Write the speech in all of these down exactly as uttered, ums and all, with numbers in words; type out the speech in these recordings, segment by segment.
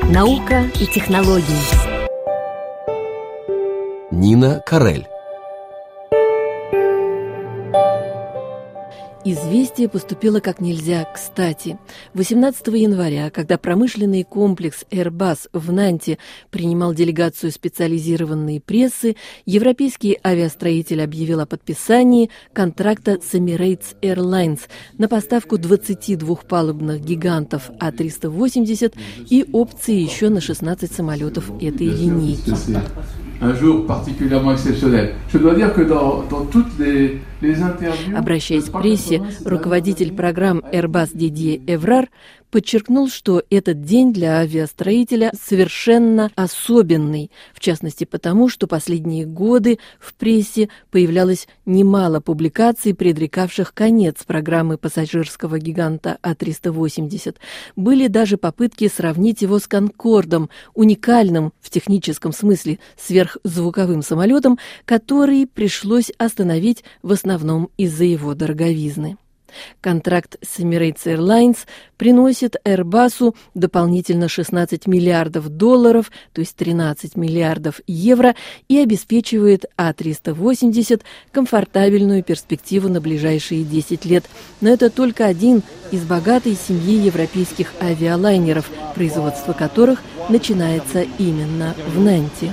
Наука и технологии. Нина Карель. Известие поступило как нельзя кстати. восемнадцатого января, когда промышленный комплекс Airbus в Нанте принимал делегацию специализированной прессы, европейский авиастроитель объявил о подписании контракта с Emirates Airlines на поставку двадцати двухпалубных гигантов А триста восемьдесят и опции еще на шестнадцать самолетов этой линейки. Обращаясь к прессе, руководитель программ Airbus Дидье Эврар подчеркнул, что этот день для авиастроителя совершенно особенный, в частности потому, что последние годы в прессе появлялось немало публикаций, предрекавших конец программы пассажирского гиганта А триста восемьдесят. Были даже попытки сравнить его с «Конкордом», уникальным в техническом смысле сверхзвуковым самолетом, который пришлось остановить в основном из-за его дороговизны. Контракт с Emirates Airlines приносит Airbus дополнительно шестнадцать миллиардов долларов, то есть тринадцать миллиардов евро, и обеспечивает А триста восемьдесят комфортабельную перспективу на ближайшие десять лет. Но это только один из богатой семьи европейских авиалайнеров, производство которых начинается именно в Нанте.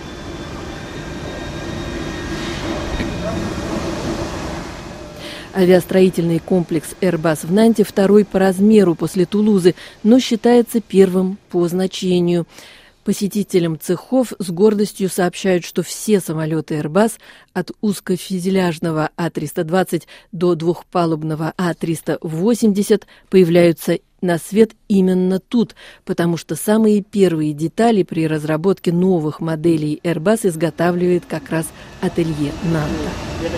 Авиастроительный комплекс Airbus в Нанте второй по размеру после Тулузы, но считается первым по значению. Посетителям цехов с гордостью сообщают, что все самолеты Airbus от узкофюзеляжного А триста двадцать до двухпалубного А триста восемьдесят появляются на свет именно тут, потому что самые первые детали при разработке новых моделей Airbus изготавливает как раз ателье Нанта.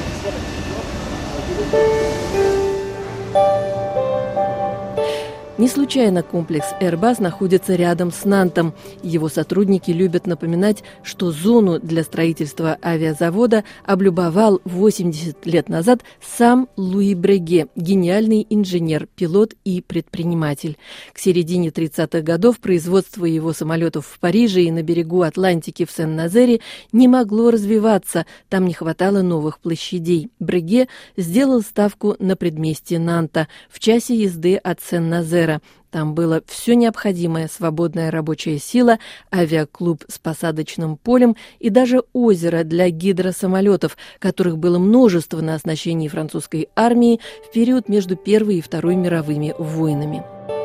Не случайно комплекс Airbus находится рядом с Нантом. Его сотрудники любят напоминать, что зону для строительства авиазавода облюбовал восемьдесят лет назад сам Луи Бреге, гениальный инженер, пилот и предприниматель. К середине тридцатых годов производство его самолетов в Париже и на берегу Атлантики в Сен-Назере не могло развиваться, там не хватало новых площадей. Бреге сделал ставку на предместье Нанта, в часе езды от Сен-Назера. Там было все необходимое: свободная рабочая сила, авиаклуб с посадочным полем и даже озеро для гидросамолетов, которых было множество на оснащении французской армии в период между Первой и Второй мировыми войнами.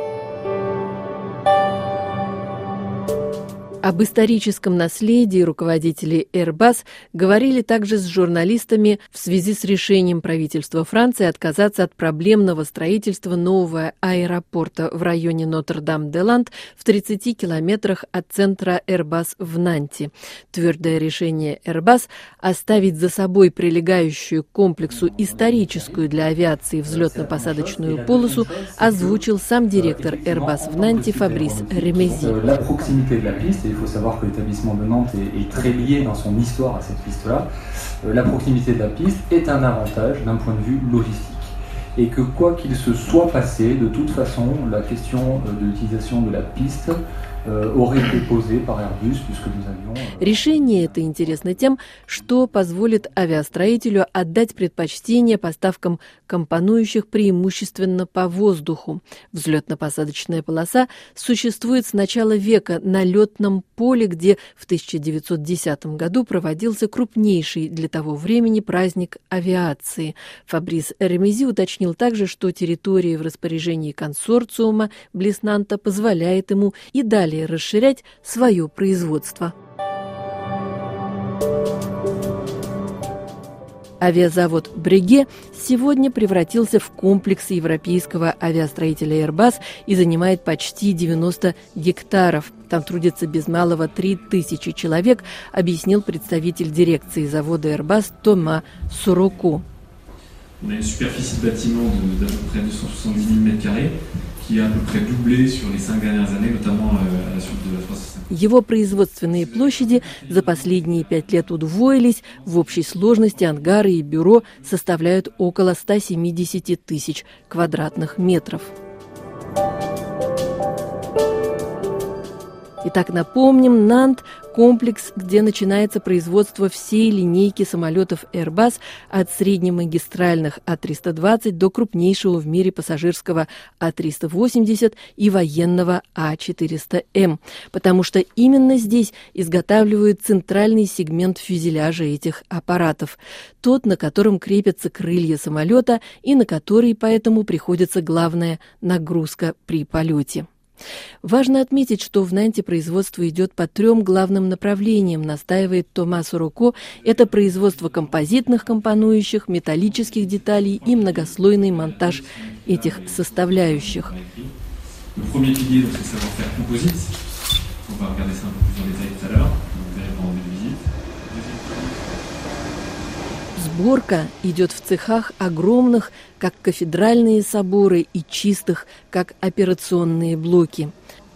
Об историческом наследии руководители Airbus говорили также с журналистами в связи с решением правительства Франции отказаться от проблемного строительства нового аэропорта в районе Нотр-Дам-де-Ланд в тридцати километрах от центра Airbus в Нанте. Твердое решение Airbus оставить за собой прилегающую к комплексу историческую для авиации взлетно-посадочную полосу озвучил сам директор Airbus в Нанте Фабрис Ремези. Il faut savoir que l'établissement de Nantes est, est très lié dans son histoire à cette piste-là. Euh, la proximité de la piste est un avantage d'un point de vue logistique. Et que quoi qu'il se soit passé, de toute façon, la question euh, de l'utilisation de la piste euh, aurait été posée par Airbus, puisque nous avions... Euh... Решение это интересно тем, что позволит авиастроителю отдать предпочтение поставкам компонующих преимущественно по воздуху. Взлетно-посадочная полоса существует с начала века на летном поле, где в тысяча девятьсот десятом году проводился крупнейший для того времени праздник авиации. Фабрис Ремези уточнил также, что территория в распоряжении консорциума близ Нанта позволяет ему и далее расширять свое производство. Авиазавод Бреге сегодня превратился в комплекс европейского авиастроителя Airbus и занимает почти девяносто гектаров. Там трудится без малого три тысячи человек, объяснил представитель дирекции завода Airbus Тома Суроко. On a une superficie de bâtiment de, d'à peu près deux cent soixante-dix mille mètres carrés qui a à peu près doublé sur les cinq dernières années, notamment à la suite de la trois cent cinquante. Его производственные площади за последние пять лет удвоились. В общей сложности ангары и бюро составляют около ста семидесяти тысяч квадратных метров. Итак, напомним, Нант – комплекс, где начинается производство всей линейки самолетов Airbus от среднемагистральных А триста двадцать до крупнейшего в мире пассажирского А триста восемьдесят и военного А четыреста М, потому что именно здесь изготавливают центральный сегмент фюзеляжа этих аппаратов, тот, на котором крепятся крылья самолета и на который поэтому приходится главная нагрузка при полете. Важно отметить, что в Нанте производство идет по трем главным направлениям, настаивает Томасо Рокко. Это производство композитных компонующих, металлических деталей и многослойный монтаж этих составляющих. Сборка идет в цехах огромных, как кафедральные соборы, и чистых, как операционные блоки.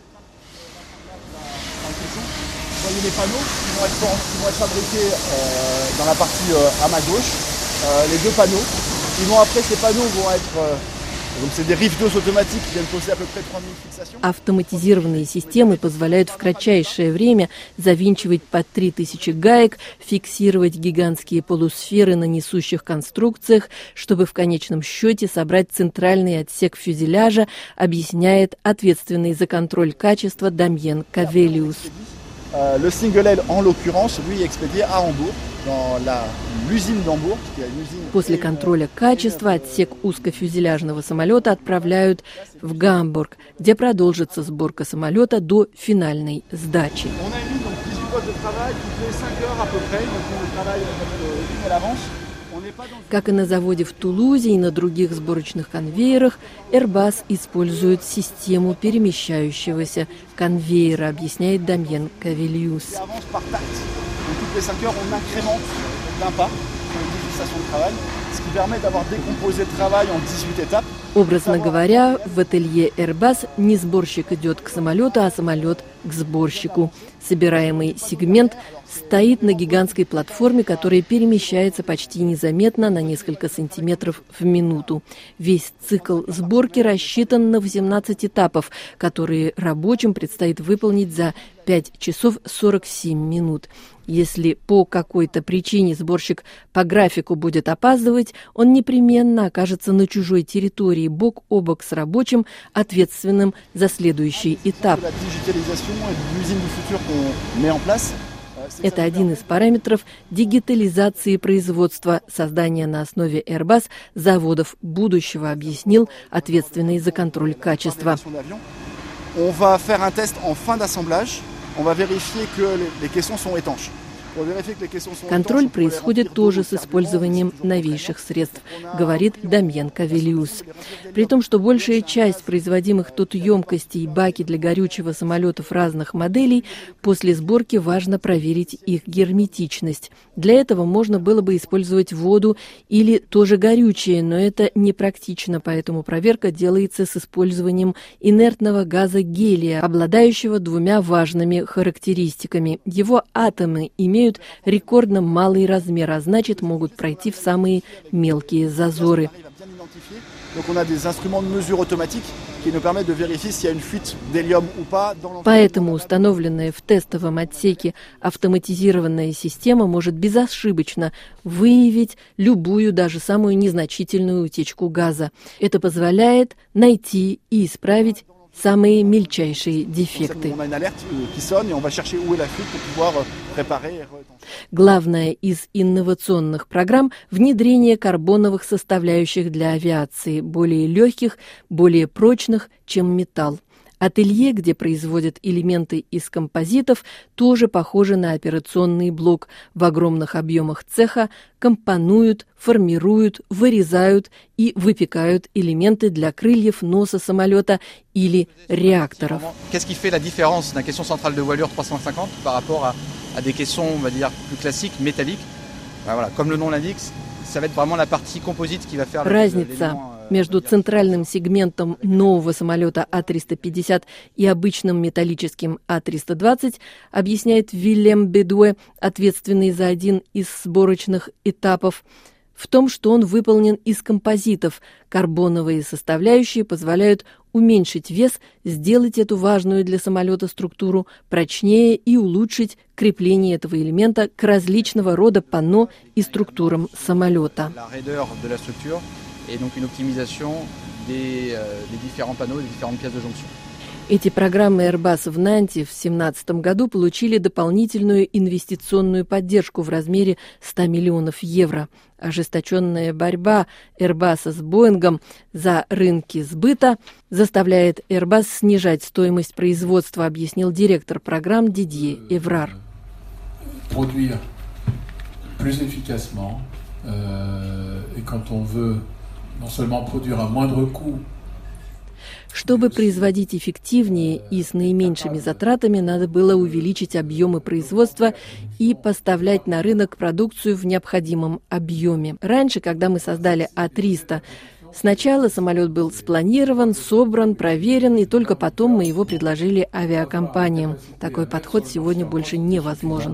Автоматизированные системы позволяют в кратчайшее время завинчивать по три тысячи гаек, фиксировать гигантские полусферы на несущих конструкциях, чтобы в конечном счете собрать центральный отсек фюзеляжа, объясняет ответственный за контроль качества Дамьен Кавелиус. Le single aile, en l'occurrence, lui est expédié à Hambourg, dans la, l'usine d'Hambourg, qui est une usine... После контроля качества отсек узкофюзеляжного самолета отправляют в Гамбург, где продолжится сборка самолета до финальной сдачи. Как и на заводе в Тулузе и на других сборочных конвейерах, Airbus использует систему перемещающегося конвейера, объясняет Дамьен Кавелиус. Образно говоря, в ателье Airbus не сборщик идет к самолету, а самолет к сборщику. Собираемый сегмент стоит на гигантской платформе, которая перемещается почти незаметно на несколько сантиметров в минуту. Весь цикл сборки рассчитан на восемнадцать этапов, которые рабочим предстоит выполнить за пять часов сорок семь минут. Если по какой-то причине сборщик по графику будет опаздывать, он непременно окажется на чужой территории, бок о бок с рабочим, ответственным за следующий этап. Это один из параметров дигитализации производства, создания на основе Airbus заводов будущего, объяснил ответственный за контроль качества. Контроль происходит тоже с использованием новейших средств, говорит Дамьен Кавелиус. При том, что большая часть производимых тут емкостей и баки для горючего самолетов разных моделей, после сборки важно проверить их герметичность. Для этого можно было бы использовать воду или тоже горючее, но это непрактично, поэтому проверка делается с использованием инертного газа гелия, обладающего двумя важными характеристиками. Его атомы имеют имеют рекордно малый размер, а значит, могут пройти в самые мелкие зазоры. Поэтому установленная в тестовом отсеке автоматизированная система может безошибочно выявить любую, даже самую незначительную утечку газа. Это позволяет найти и исправить самые мельчайшие дефекты. Главное из инновационных программ – внедрение карбоновых составляющих для авиации, более легких, более прочных, чем металл. Ателье, где производят элементы из композитов, тоже похоже на операционный блок. В огромных объемах цеха компонуют, формируют, вырезают и выпекают элементы для крыльев, носа самолета или реакторов. Qu'est-ce qui fait la différence d'un caisson central de voilure trois cent cinquante par rapport à, à des caissons, on va dire, plus classiques, métalliques? Ben voilà, comme le nom l'indique, ça va être vraiment la partie composite qui va faire Разница между центральным сегментом нового самолета А триста пятьдесят и обычным металлическим А триста двадцать, объясняет Вильям Бедуэ, ответственный за один из сборочных этапов, в том, что он выполнен из композитов. Карбоновые составляющие позволяют уменьшить вес, сделать эту важную для самолета структуру прочнее и улучшить крепление этого элемента к различного рода панно и структурам самолета. Эти программы Airbus в Нанте в две тысячи семнадцатом году получили дополнительную инвестиционную поддержку в размере ста миллионов евро. Ожесточенная борьба Airbus с Боингом за рынки сбыта заставляет Airbus снижать стоимость производства, объяснил директор программ Дидье Эврар. Produire plus efficacement, euh, et quand on veut non seulement produire à moindre coût. Чтобы производить эффективнее и с наименьшими затратами, надо было увеличить объемы производства и поставлять на рынок продукцию в необходимом объеме. Раньше, когда мы создали А триста, сначала самолет был спланирован, собран, проверен, и только потом мы его предложили авиакомпаниям. Такой подход сегодня больше невозможен.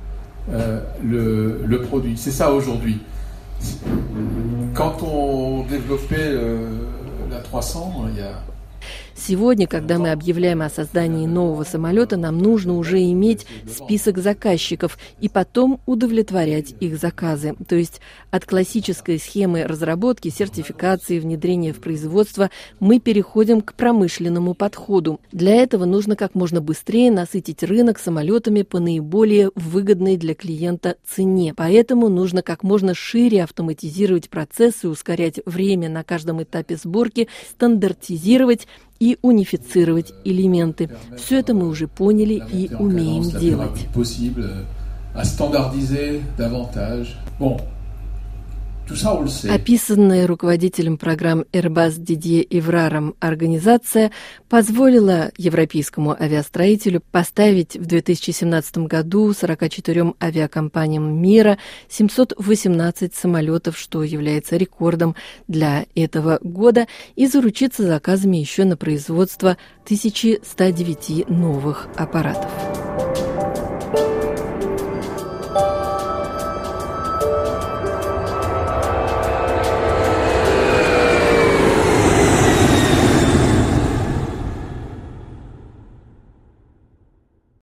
Le, le produit, c'est ça aujourd'hui. Quand on développait la trois cents, il y a Сегодня, когда мы объявляем о создании нового самолета, нам нужно уже иметь список заказчиков и потом удовлетворять их заказы. То есть от классической схемы разработки, сертификации, внедрения в производство мы переходим к промышленному подходу. Для этого нужно как можно быстрее насытить рынок самолетами по наиболее выгодной для клиента цене. Поэтому нужно как можно шире автоматизировать процессы, ускорять время на каждом этапе сборки, стандартизировать и унифицировать элементы. Все это мы уже поняли и умеем делать. Описанная руководителем программ Airbus Дидье Эвраром организация позволила европейскому авиастроителю поставить в две тысячи семнадцатом году сорока четырем авиакомпаниям мира семьсот восемнадцать самолетов, что является рекордом для этого года, и заручиться заказами еще на производство тысячи ста девяти новых аппаратов.